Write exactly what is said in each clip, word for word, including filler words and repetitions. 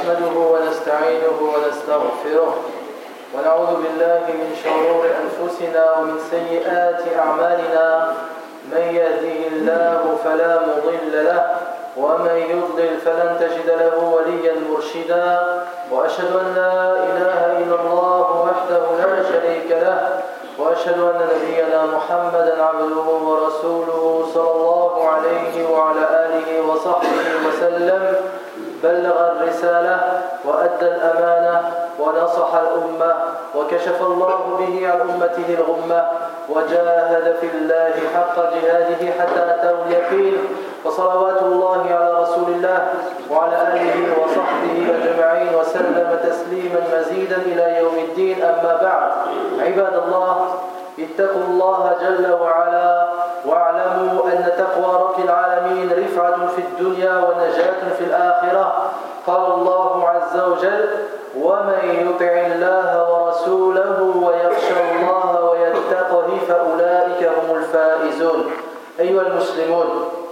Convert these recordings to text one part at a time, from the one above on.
نحمده ونستعينه ونستغفره ونعوذ بالله من شرور أنفسنا ومن سيئات أعمالنا من يهده الله فلا مضل له ومن يضلل فلن تجد له وليا مرشدا وأشهد أن لا إله إلا الله وحده لا شريك له وأشهد أن نبينا محمدا عبده ورسوله صلى الله عليه وعلى آله وصحبه وسلم بلغ الرسالة وأدى الأمانة ونصح الأمة وكشف الله به عن أمته الغمة وجاهد في الله حق جهاده حتى أتاه اليقين وصلوات الله على رسول الله وعلى آله وصحبه أجمعين وسلم تسليما مزيدا إلى يوم الدين. أما بعد، عباد الله، اتقوا الله جل وعلا واعلموا أن تقوى رب العالمين رفعة في الدنيا ونجاة في الآخرة. قال الله عز وجل: ومن يطع الله ورسوله ويخشى الله ويتقه فأولئك هم الفائزون. أيها المسلمون،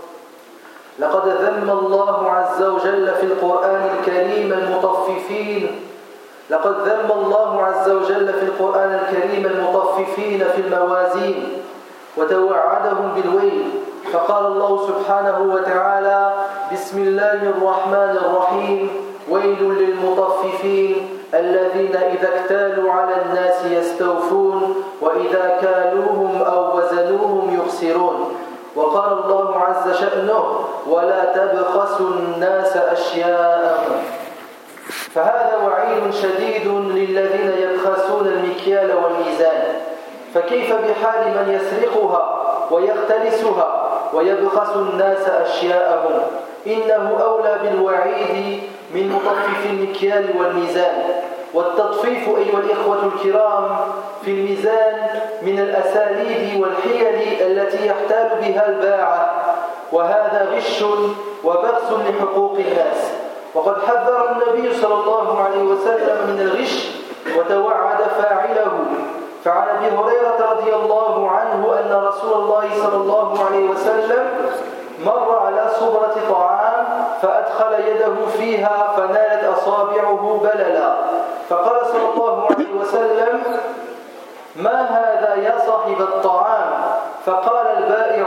لقد ذم الله عز وجل في القرآن الكريم المطففين لقد ذم الله عز وجل في القرآن الكريم المطففين في الموازين وتوعدهم بالويل، فقال الله سبحانه وتعالى: بسم الله الرحمن الرحيم: ويل للمطففين الذين إذا اكتالوا على الناس يستوفون وإذا كالوهم أو وزنوهم يخسرون. وقال الله عز شأنه: ولا تبخسوا الناس أشياءهم. فهذا وعيد شديد للذين يبخسون المكيال والميزان، فكيف بحال من يسرقها ويختلسها ويبخس الناس أشياءهم؟ إنه أولى بالوعيد من مطفف المكيال والميزان. والتطفيف أيها الإخوة الكرام في الميزان من الأساليب والحيل التي يحتال بها الباعة، وهذا غش وبخس لحقوق الناس. وقد حذر النبي صلى الله عليه وسلم من الغش وتوعد فاعله. فعن أبي هريرة رضي الله عنه أن رسول الله صلى الله عليه وسلم مر على صبرة طعام فأدخل يده فيها فنالت أصابعه بللا، فقال صلى الله عليه وسلم: ما هذا يا صاحب الطعام؟ فقال البائع: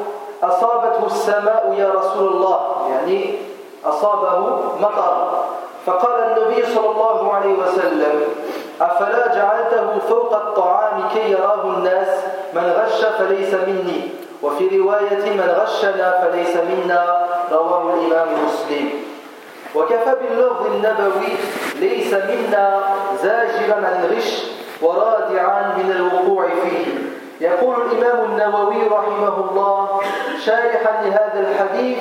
أصابته السماء يا رسول الله، يعني أصابه مطر. فقال النبي صلى الله عليه وسلم: أفلا جعلته فوق الطعام كي يراه الناس؟ من غش فليس مني، وفي رواية: من غشنا فليس منا، رواه الإمام مسلم. وكفى باللفظ النبوي: ليس منا زاجرا عن الغش ورادعا من الوقوع فيه. يقول الإمام النووي رحمه الله شارحا لهذا الحديث،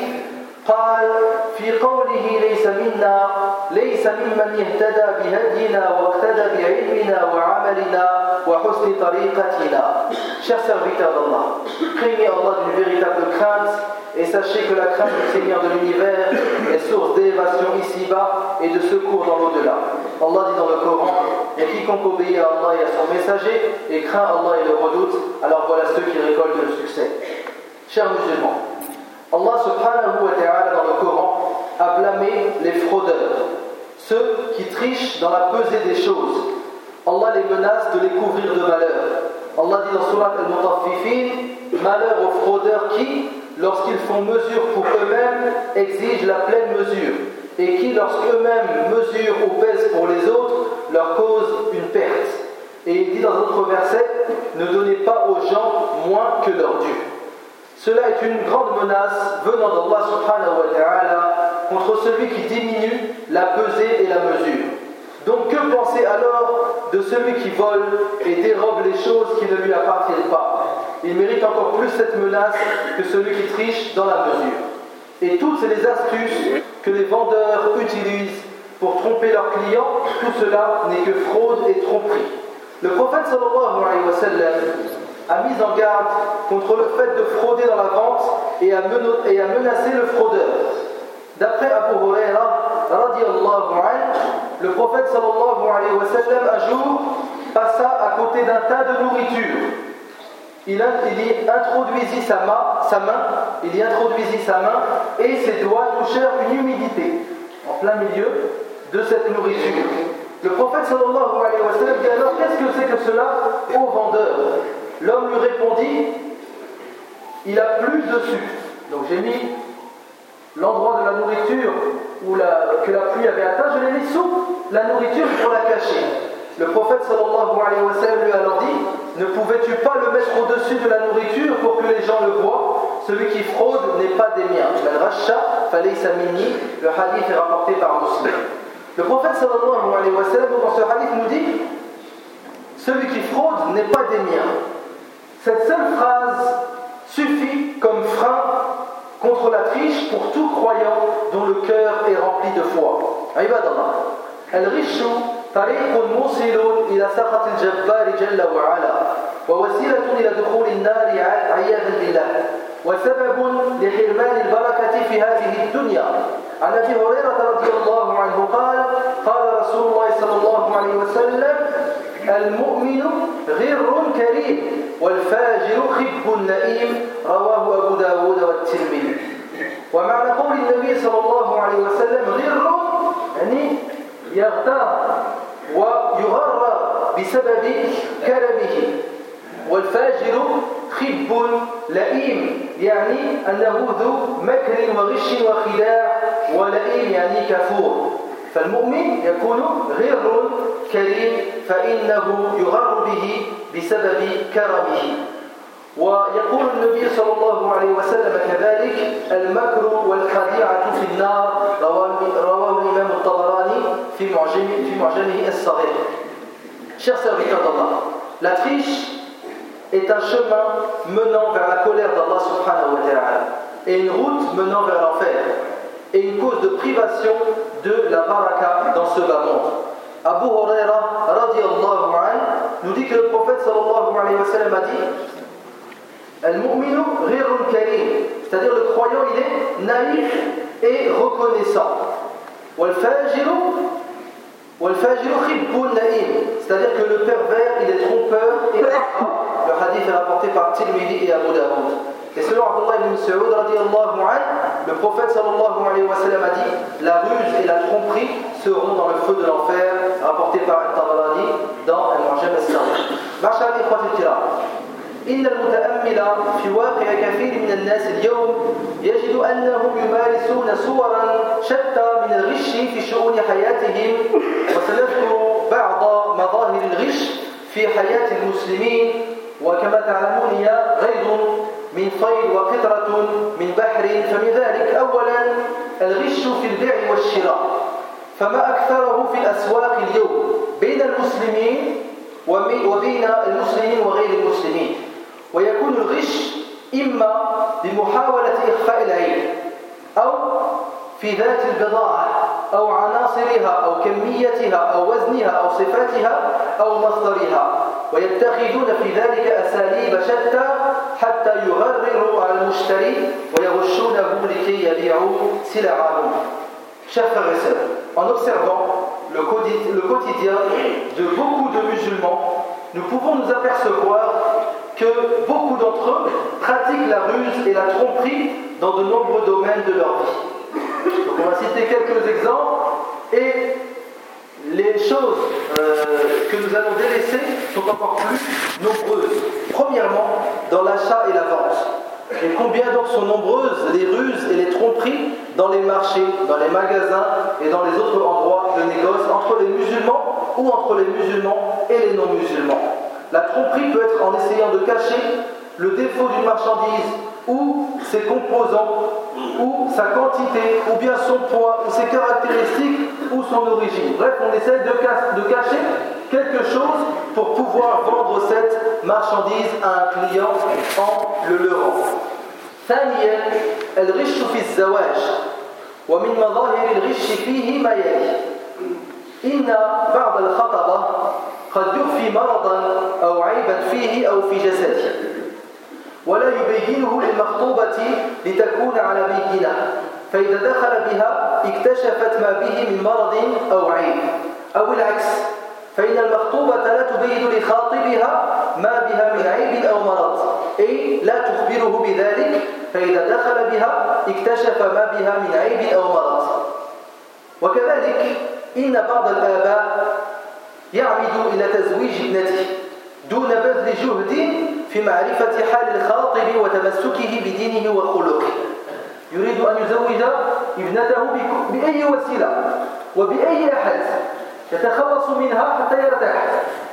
قال في قوله ليس منا: ليس ممن يهتدى بهدينا واقتدى بعلمنا وعملنا وحسن طريقتنا. Chers serviteurs d'Allah, craignez Allah d'une véritable crainte et sachez que la crainte du Seigneur de l'univers est source d'élévation ici-bas et de secours dans l'au-delà. Allah dit dans le Coran: et quiconque obéit à Allah et à son messager et craint Allah et le redoute, alors voilà ceux qui récoltent le succès. Chers musulmans, Allah subhanahu wa ta'ala dans le Coran a blâmé les fraudeurs, ceux qui trichent dans la pesée des choses. Allah les menace de les couvrir de malheur. Allah dit dans Surat Al-Mutaffifin: malheur aux fraudeurs qui, lorsqu'ils font mesure pour eux-mêmes, exigent la pleine mesure, et qui, lorsqu'eux-mêmes mesurent ou pèsent pour les autres, leur causent une perte. Et il dit dans d'autres versets: ne donnez pas aux gens moins que leur dû. Cela est une grande menace venant d'Allah subhanahu wa ta'ala contre celui qui diminue la pesée et la mesure. Donc que penser alors de celui qui vole et dérobe les choses qui ne lui appartiennent pas? Il mérite encore plus cette menace que celui qui triche dans la mesure. Et toutes les astuces que les vendeurs utilisent pour tromper leurs clients, tout cela n'est que fraude et tromperie. Le prophète sallallahu alayhi wa sallam a mis en garde contre le fait de frauder dans la vente et à, meno- et à menacer le fraudeur. D'après Abu Huraira radiyallahu anhu, le prophète sallallahu alayhi wa sallam un jour passa à côté d'un tas de nourriture. Il, a, il y introduisit sa main, sa main, il y introduisit sa main et ses doigts touchèrent une humidité en plein milieu de cette nourriture. Le prophète sallallahu alayhi wa sallam dit alors qu'est-ce que c'est que cela au vendeur? L'homme lui répondit il a plus de sucre. Donc j'ai mis l'endroit de la nourriture où la, que la pluie avait atteint, je l'ai mis sous la nourriture pour la cacher. Le prophète sallallahu alayhi wa sallam lui a alors dit ne pouvais-tu pas le mettre au-dessus de la nourriture pour que les gens le voient? Celui qui fraude n'est pas des miens. Le hadith est rapporté par Muslim. Le prophète sallallahu alayhi wa sallam dans ce hadith nous dit celui qui fraude n'est pas des miens. Cette seule phrase suffit comme frein contre la triche pour tout croyant dont le cœur est rempli de foi. Ibadallah. Al-rishu tariqun musilun ila saqat al-jabbar jalla wa ala wa wasilatun ila dukhul an-nar 'iyadan billah wa sababun li hirman al-barakati fi hadhihi ad-dunya. عن ابي هريره رضي الله عنه قال قال رسول الله صلى الله عليه وسلم المؤمن غر كريم والفاجر خب نئيم رواه ابو داود والترمذي. ومعنى قول النبي صلى الله عليه وسلم غر يعني يغتر ويغرر بسبب كرمه والفاجر خب لئيم يعني أنه ذو مكر وغش وخداع ولئيم يعني كفور. فالمؤمن يكون غر كريم فإنه يغر به بسبب كرمه. ويقول النبي صلى الله عليه وسلم كذلك المكر والخديعة في النار رواه الإمام الطبراني في معجمه في معجمه الصغير. Chers serviteurs d'Allah, la triche est un chemin menant vers la colère d'Allah subhanahu wa ta'ala et une route menant vers l'enfer et une cause de privation de la baraka dans ce bas monde. Abu Huraira radiyallahu anhu nous dit que le prophète sallallahu alayhi wa sallam a dit Al-mu'minu ghirun karim, c'est-à-dire le croyant il est naïf et reconnaissant. Wal-fajiru Wal-fajiru khibbun na'im, c'est-à-dire que le pervers il est trompeur et ingrat. Le hadith est rapporté par Tirmidhi et Abu Daoud. Et selon Abdullah ibn Mas'ud radiyallahu anhu, le prophète sallallahu alayhi wa sallam a dit la ruse et la tromperie seront dans le feu de l'enfer, rapporté par Al-Tabarani dans Al-Mu'jam al-Saghir. Ma'ashar al-ikhwati al-kiram, إن المتأمل في واقع كثير من الناس اليوم يجد أنهم يمارسون صورا شتى من الغش في شؤون حياتهم. وسنذكر بعض مظاهر الغش في حياة المسلمين. وكما تعلمون هي غيض من صيد وقطرة من بحر. فمن ذلك أولا الغش في البيع والشراء، فما أكثره في الأسواق اليوم بين المسلمين وبين المسلمين وغير المسلمين. ويكون الغش إما بمحاولة إخفاء العيب أو في ذات البضاعة أو عناصرها أو كميتها أو وزنها أو صفاتها أو مصدرها، ويتخذون في ذلك أساليب شتى حتى يغرروا على المشتري ويغشونه لكي يبيعوا سلعهم. Chers frères et sœurs, en observant le quotidien de beaucoup de musulmans, nous pouvons nous apercevoir que beaucoup d'entre eux pratiquent la ruse et la tromperie dans de nombreux domaines de leur vie. Donc on va citer quelques exemples et les choses euh, que nous allons délaisser sont encore plus nombreuses. Premièrement, dans l'achat et la vente. Et combien donc sont nombreuses les ruses et les tromperies dans les marchés, dans les magasins et dans les autres endroits de négoce entre les musulmans ou entre les musulmans et les non-musulmans. La tromperie peut être en essayant de cacher le défaut d'une marchandise ou ses composants ou sa quantité ou bien son poids ou ses caractéristiques ou son origine. Bref, on essaie de, de cacher quelque chose pour pouvoir vendre cette marchandise à un client en le leurrant. ثانيا الغش في الزواج ومن مظاهر الغش فيه ما يلي إن بعض الخطبة قد يخفي مرضا أو عيبا فيه أو في جسده ولا يبينه للمخطوبة لتكون على بينة، فإذا دخل بها اكتشفت ما به من مرض أو عيب، أو العكس، فإن المخطوبة لا تبين لخاطبها ما بها من عيب أو مرض، أي لا تخبره بذلك، فإذا دخل بها اكتشف ما بها من عيب أو مرض. وكذلك إن بعض الآباء يعمد إلى تزويج ابنته دون بذل جهد في معرفة حال الخاطب وتمسكه بدينه وخلقه. يريد أن يزوج ابنته بأي وسيلة وبأي أحد يتخلص منها حتى يرتاح.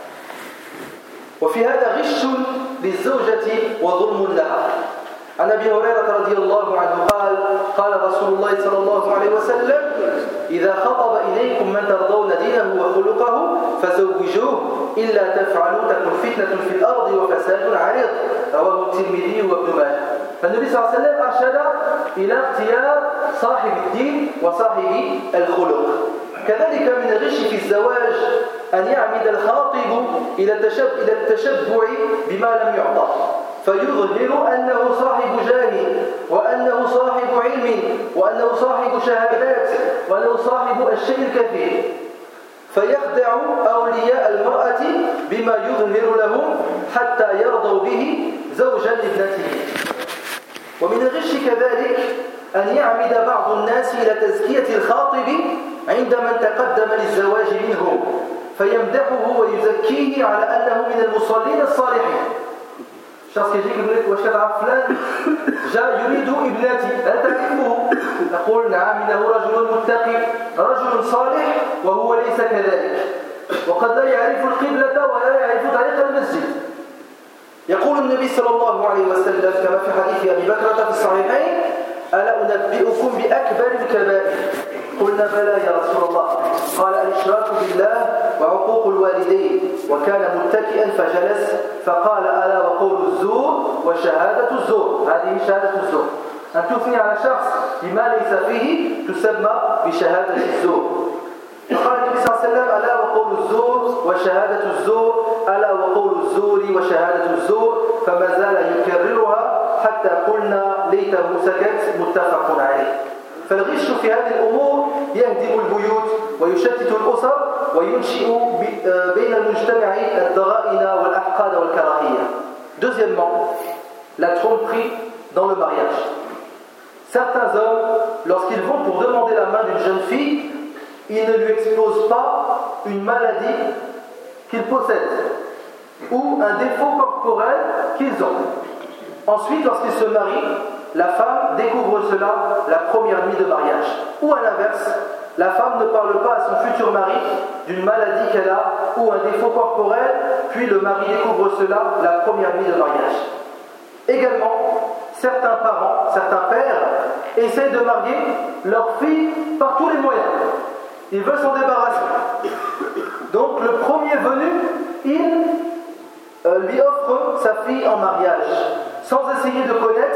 وفي هذا غش للزوجة وظلم لها. عن أبي هريرة رضي الله عنه قال قال رسول الله صلى الله عليه وسلم إذا خطب إليكم من ترضون دينه وخلقه فزوجوه إلا تفعلوا تكن فتنة في الأرض وفساد عريض. رواه الترمذي وابن ماجه. فالنبي صلى الله عليه وسلم أرشد إلى اختيار صاحب الدين وصاحب الخلق. كذلك من الغش في الزواج أن يعمد الخاطب إلى التشبع بما لم يعطى فيظهر أنه صاحب جاه وأنه صاحب علم وأنه صاحب شهادات وأنه صاحب الشيء الكثير، فيخدع أولياء المرأة بما يظهر لهم حتى يرضوا به زوجا لابنته. ومن الغش كذلك أن يعمد بعض الناس إلى تزكية الخاطب عند من تقدم للزواج منه فيمدحه ويزكيه على أنه من المصلين الصالحين. الشخص يجيك يقول لك واش كتعرف فلان جاء يريد ابنتي هل تعرفه؟ نقول نعم انه رجل متقي رجل صالح وهو ليس كذلك، وقد لا يعرف القبلة ولا يعرف طريق المسجد. يقول النبي صلى الله عليه وسلم كما في حديث أبي بكرة في الصحيحين ألا أنبئكم بأكبر الكبائر؟ قلنا بلى يا رسول الله. قال الإشراك بالله وعقوق الوالدين. وكان متكئا فجلس فقال ألا وقول الزور وشهادة الزور. هذه شهادة الزور، أن تثني على شخص بما ليس فيه تسمى بشهادة الزور. فقال النبي صلى الله عليه وسلم ألا وقول الزور وشهادة الزور ألا وقول الزور وشهادة الزور، فما زال يكررها حتى قلنا ليته سكت. متفق عليه. فالغش في هذه الأمور يهدم البيوت ويشتت الأسر وينشئ بين المجتمع الضغائن والأحقاد والكراهية. Deuxièmement, la tromperie dans le mariage. Certains hommes, lorsqu'ils vont pour demander la main d'une jeune fille, ils ne lui exposent pas une maladie qu'ils possèdent ou un défaut corporel qu'ils ont. Ensuite, lorsqu'ils se marient, la femme découvre cela la première nuit de mariage. Ou à l'inverse, la femme ne parle pas à son futur mari d'une maladie qu'elle a ou un défaut corporel, puis le mari découvre cela la première nuit de mariage. Également, certains parents, certains pères essaient de marier leur fille par tous les moyens. Ils veulent s'en débarrasser. Donc le premier venu, il euh, lui offre sa fille en mariage, sans essayer de connaître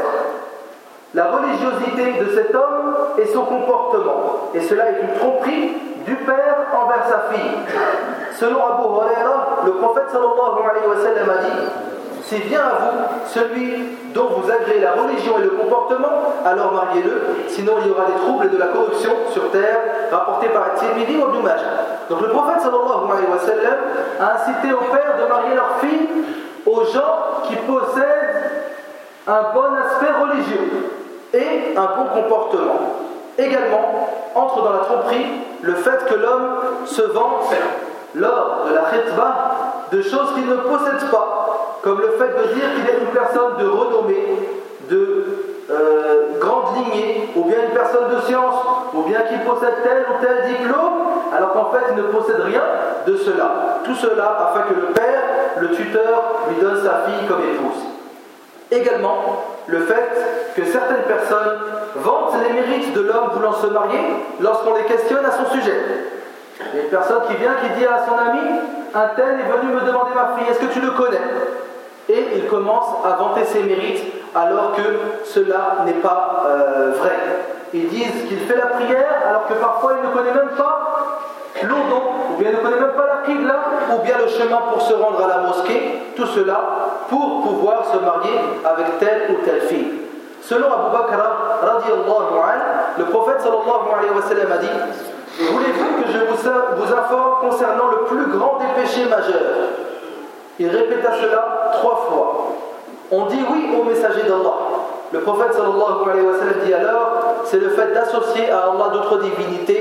la religiosité de cet homme et son comportement. Et cela est une tromperie du père envers sa fille. Selon Abu Huraira, le prophète sallallahu alayhi wa sallam a dit: si vient à vous celui dont vous agréez la religion et le comportement, alors mariez-le, sinon il y aura des troubles et de la corruption sur terre, rapporté par At-Tirmidhi ou Ibn Majah. Donc le prophète sallallahu alayhi wa sallam a incité aux pères de marier leurs filles aux gens qui possèdent un bon aspect religieux et un bon comportement. Également, entre dans la tromperie le fait que l'homme se vante lors de la khitbah de choses qu'il ne possède pas, comme le fait de dire qu'il est une personne de renommée, de euh, grande lignée, ou bien une personne de science, ou bien qu'il possède tel ou tel diplôme, alors qu'en fait il ne possède rien de cela. Tout cela afin que le père, le tuteur, lui donne sa fille comme épouse. Également, le fait que certaines personnes vantent les mérites de l'homme voulant se marier lorsqu'on les questionne à son sujet. Il y a une personne qui vient, qui dit à son ami: un tel est venu me demander ma fille, est-ce que tu le connais? Et il commence à vanter ses mérites alors que cela n'est pas euh, vrai. Ils disent qu'il fait la prière alors que parfois il ne connaît même pas l'Oudou, ou bien il ne connaît même pas la Qibla, ou bien le chemin pour se rendre à la mosquée. Tout cela pour pouvoir se marier avec telle ou telle fille. Selon Abu Bakr radiyallahu anhu, le prophète sallallahu alayhi wa sallam a dit: voulez-vous que je vous, vous informe concernant le plus grand des péchés majeurs? Il répéta cela trois fois. On dit oui au messager d'Allah. Le prophète sallallahu alayhi wa sallam dit alors: c'est le fait d'associer à Allah d'autres divinités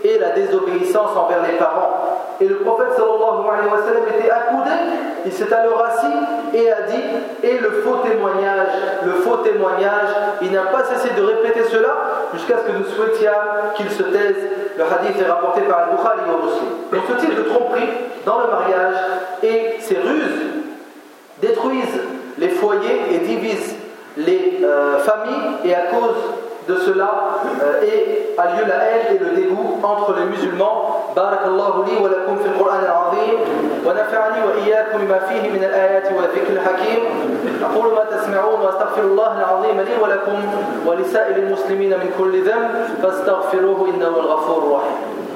et la désobéissance envers les parents. Et le prophète sallallahu alayhi wa sallam était accoudé, il s'est alors assis et a dit, et le faux témoignage, le faux témoignage, il n'a pas cessé de répéter cela jusqu'à ce que nous souhaitions qu'il se taise. Le hadith est rapporté par Al-Bukhari et Muslim. Donc ce type de tromperie dans le mariage et ces ruses détruisent les foyers et divisent les euh, familles, et à cause de cela euh, et a lieu la haine et le dégoût entre les musulmans. Barakallahu li wa lakum fil Qur'an al-azim wa nafa'ani wa iyyakum bima fihi min al-ayati wa dhikr al-hakim. aqulu ma tasma'un wa astaghfirullah al-azim li wa lakum wa li sa'il al-muslimina min kulli dhanb fastaghfiruhu innahu al-ghafurur rahim.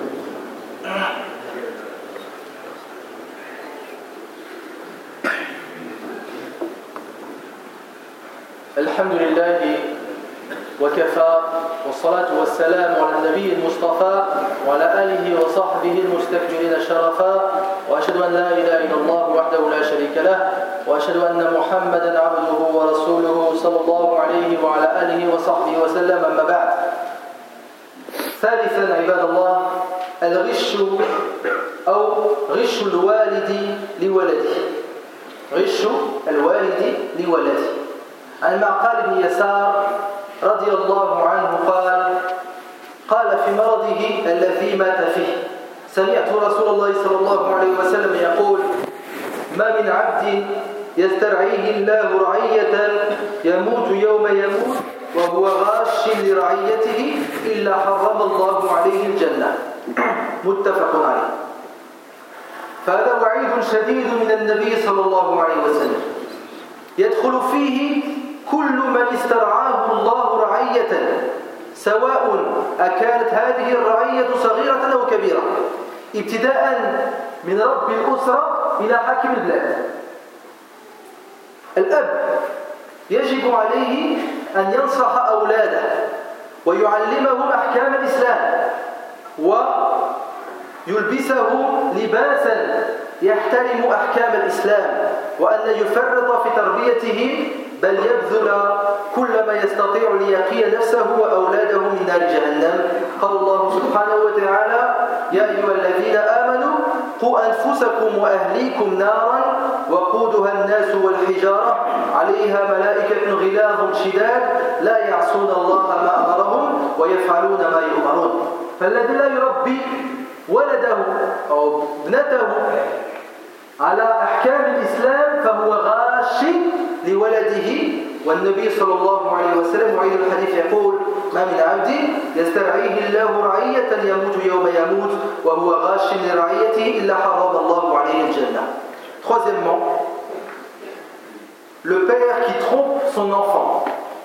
الحمد لله وكفى والصلاة والسلام على النبي المصطفى وعلى آله وصحبه المستكبرين شرفا وأشهد أن لا إله إلا الله وحده لا شريك له وأشهد أن محمدا عبده ورسوله صلى الله عليه وعلى آله وصحبه وسلم. أما بعد، ثالثا عباد الله، الغش أو غش الوالد لولده. غش الوالد لولده. عن معقل بن يسار رضي الله عنه قال قال في مرضه الذي مات فيه سمعت رسول الله صلى الله عليه وسلم يقول ما من عبد يسترعيه الله رعية يموت يوم يموت وهو غاش لرعيته إلا حرم الله عليه الجنة. متفق عليه. فهذا وعيد شديد من النبي صلى الله عليه وسلم يدخل فيه كل من استرعاه الله رعية، سواء أكانت هذه الرعية صغيرة أو كبيرة، ابتداء من رب الأسرة إلى حاكم البلاد. الأب يجب عليه أن ينصح أولاده ويعلمهم أحكام الإسلام ويلبسهم لباسا يحترم أحكام الإسلام، وأن يفرط في تربيته بل يبذل كل ما يستطيع ليقي نفسه وأولاده من نار جهنم. قال الله سبحانه وتعالى يا أيها الذين آمنوا قوا أنفسكم وأهليكم نارا وقودها الناس والحجارة عليها ملائكة غلاظ شداد لا يعصون الله ما أمرهم ويفعلون ما يؤمرون. فالذي لا يربي ولده أو ابنته على أحكام الإسلام فهو غاش لولده. والنبي صلى الله عليه وسلم وعيد الحديث يقول ما من عبد يسترعيه الله رعية يموت يوم يموت وهو غاش لرعيته إلا حرم الله عليه الجنة. Troisièmement, le père qui trompe son enfant.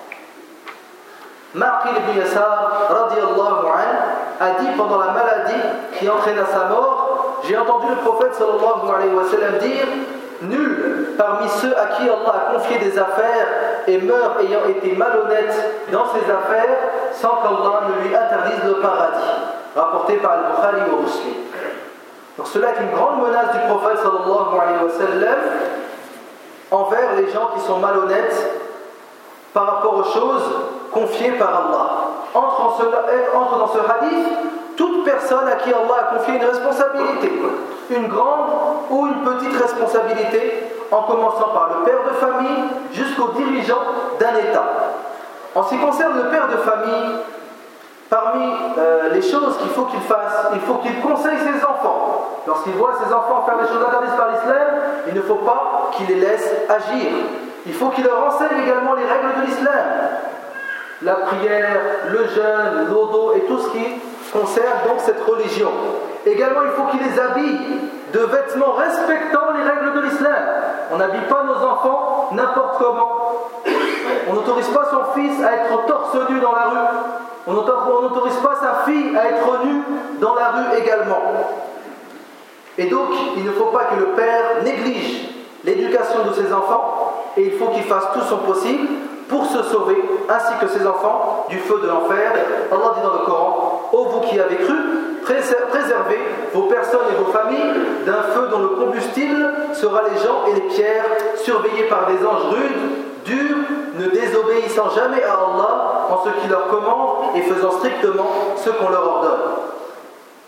Ma'qil ibn Yasar radiyallahu anhu a dit pendant la maladie qui entraîna sa mort, j'ai entendu le prophète sallallahu alayhi wa sallam dire nul parmi ceux à qui Allah a confié des affaires et meurt ayant été malhonnête dans ses affaires sans qu'Allah ne lui interdise le paradis. Rapporté par Al-Bukhari et Muslim. Donc cela est une grande menace du prophète sallallahu alayhi wa sallam envers les gens qui sont malhonnêtes par rapport aux choses confiées par Allah. Entre, en cela, entre dans ce hadith toute personne à qui Allah a confié une responsabilité, une grande ou une petite responsabilité, en commençant par le père de famille jusqu'au dirigeant d'un État. En ce qui concerne le père de famille, parmi euh, les choses qu'il faut qu'il fasse, il faut qu'il conseille ses enfants. Lorsqu'il voit ses enfants faire des choses interdites par l'islam, il ne faut pas qu'il les laisse agir. Il faut qu'il leur enseigne également les règles de l'islam. La prière, le jeûne, l'odo et tout ce qui concerne donc cette religion. Également, il faut qu'il les habille de vêtements respectant les règles de l'islam. On n'habille pas nos enfants n'importe comment. On n'autorise pas son fils à être torse nu dans la rue. On n'autorise pas sa fille à être nue dans la rue également. Et donc, il ne faut pas que le père néglige l'éducation de ses enfants, et il faut qu'il fasse tout son possible pour se sauver, ainsi que ses enfants, du feu de l'enfer. Allah dit dans le Coran: ô vous qui avez cru, préservez vos personnes et vos familles d'un feu dont le combustible sera les gens et les pierres, surveillés par des anges rudes, durs, ne désobéissant jamais à Allah en ce qu'il leur commande et faisant strictement ce qu'on leur ordonne.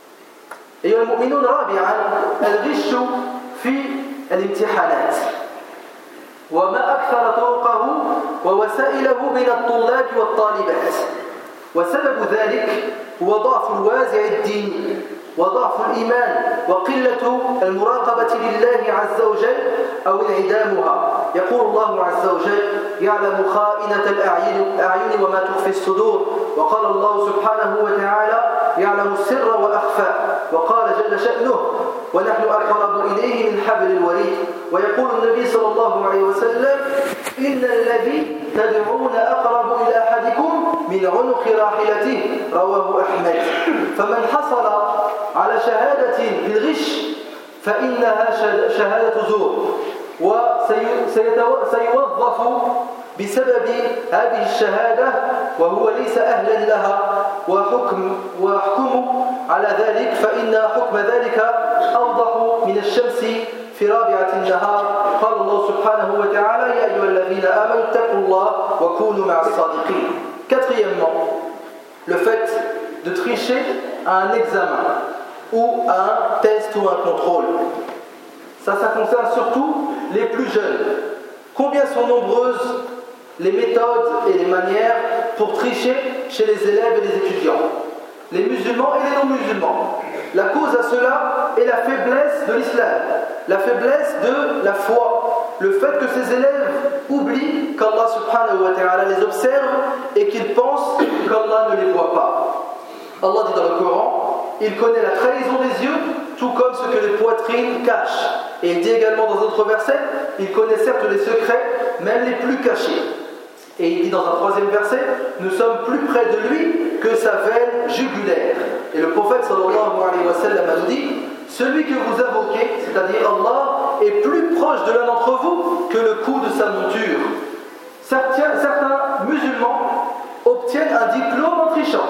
أيها المؤمنون رابعا الغش في الامتحانات وما أكثر طرقه ووسائله بين الطلاب والطالبات، وسبب ذلك هو ضعف الوازع الديني وضعف الإيمان وقلة المراقبة لله عز وجل أو انعدامها. يقول الله عز وجل: يعلم خائنة الأعين وما تخفي الصدور. وقال الله سبحانه وتعالى: يعلم السر وأخفى. وقال جل شأنه: ونحن أقرب إليه من حبل الوريد. ويقول النبي صلى الله عليه وسلم: إن الذي تدعون أقرب إلى أحدكم من عنق راحلته. رواه أحمد. فمن حصل على شهادة بالغش فإنها شهادة زور، وسيوظف بسبب هذه الشهادة وهو ليس أهلا لها، وحكم ويحكم على ذلك فإن حكم ذلك أوضح من الشمس في رابعة النهار. قال الله سبحانه وتعالى: يا أيها الذين آمنوا اتقوا الله وكونوا مع الصادقين. Quatrièmement, le fait de tricher à un examen ou à un test ou un contrôle. Ça, ça concerne surtout les plus jeunes. Combien sont nombreuses les méthodes et les manières pour tricher chez les élèves et les étudiants, les musulmans et les non-musulmans. La cause à cela est la faiblesse de l'islam, la faiblesse de la foi, le fait que ces élèves oublient qu'Allah subhanahu wa ta'ala les observe et qu'ils pensent qu'Allah ne les voit pas. Allah dit dans le Coran: il connaît la trahison des yeux, tout comme ce que les poitrines cachent. Et il dit également dans d'autres versets: il connaît certes les secrets, même les plus cachés. Et il dit dans un troisième verset: nous sommes plus près de lui que sa veine jugulaire. Et le prophète sallallahu alayhi wa sallam a dit: celui que vous invoquez, c'est-à-dire Allah, est plus proche de l'un d'entre vous que le coup de sa monture. Certains, certains musulmans obtiennent un diplôme en trichant.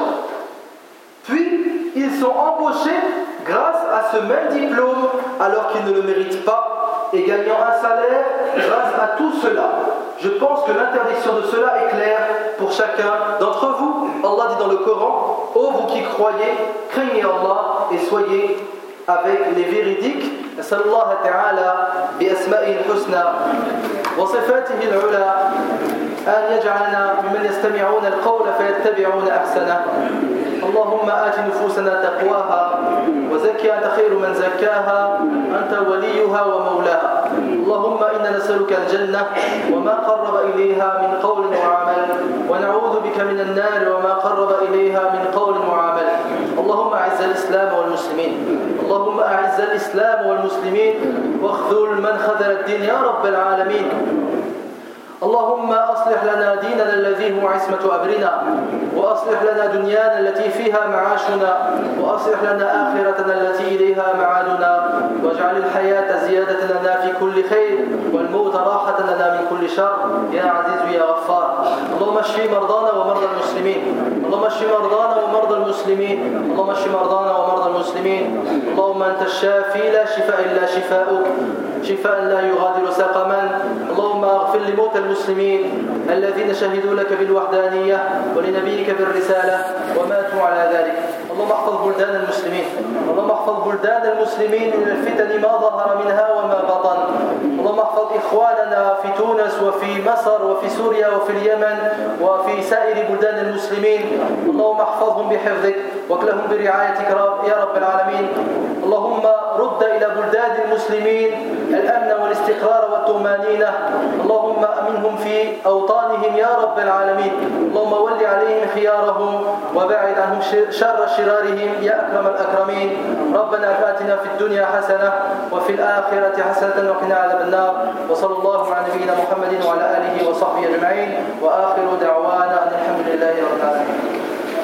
Puis, ils sont embauchés grâce à ce même diplôme alors qu'ils ne le méritent pas et gagnant un salaire grâce à tout cela. Je pense que l'interdiction de cela est claire pour chacun d'entre vous. Allah dit dans le Coran: ô vous qui croyez, craignez Allah et soyez avec les véridiques. أسأل الله تعالى بأسمائه الحسنى وصفاته العلى أن يجعلنا ممن يستمعون القول فيتبعون أحسنه. اللهم آت نفوسنا تقواها وزكها أنت خير من زكاها أنت وليها ومولاها. اللهم إنا نسألك الجنة وما قرب إليها من قول وعمل، ونعوذ بك من النار وما قرب إليها من قول وعمل. اللهم أعز الإسلام والمسلمين، اللهم أعز الإسلام والمسلمين واخذل من خذل الدين يا رب العالمين. اللهم أصلح لنا ديننا الذي هو عصمة أمرنا، وأصلح لنا دنيانا التي فيها معاشنا، وأصلح لنا آخرتنا التي إليها معادنا، واجعل الحياة زيادة لنا في كل خير والموت راحة لنا من كل شر يا عزيز يا غفار. اللهم اشف مرضانا ومرضى المسلمين، اللهم اشف مرضانا ومرضى المسلمين، اللهم اشف مرضانا ومرضى المسلمين. اللهم أنت الشافي لا شفاء إلا شفاؤك، شفاء لا يغادر سقما. اللهم اغفر لموتى المسلمين الذين شهدوا لك بالوحدانية ولنبيك بالرسالة وماتوا على ذلك. اللهم احفظ بلدان المسلمين، اللهم احفظ بلدان المسلمين من الفتن ما ظهر منها وما بطن. اللهم احفظ إخواننا في تونس وفي مصر وفي سوريا وفي اليمن وفي سائر بلدان المسلمين. اللهم احفظهم بحفظك واكلهم برعايتك يا رب العالمين. اللهم رد إلى بلدان المسلمين الأمن والاستقرار والطمأنينة. اللهم أمنهم في أوطانهم يا رب العالمين. اللهم ول عليهم خيارهم وبعد عنهم شر شرارهم يا أكرم الأكرمين. ربنا آتنا في الدنيا حسنة وفي الآخرة حسنة وقنا عذاب النار. وصلى الله على نبينا محمد وعلى آله وصحبه أجمعين، وآخر دعوانا أن الحمد لله رب العالمين.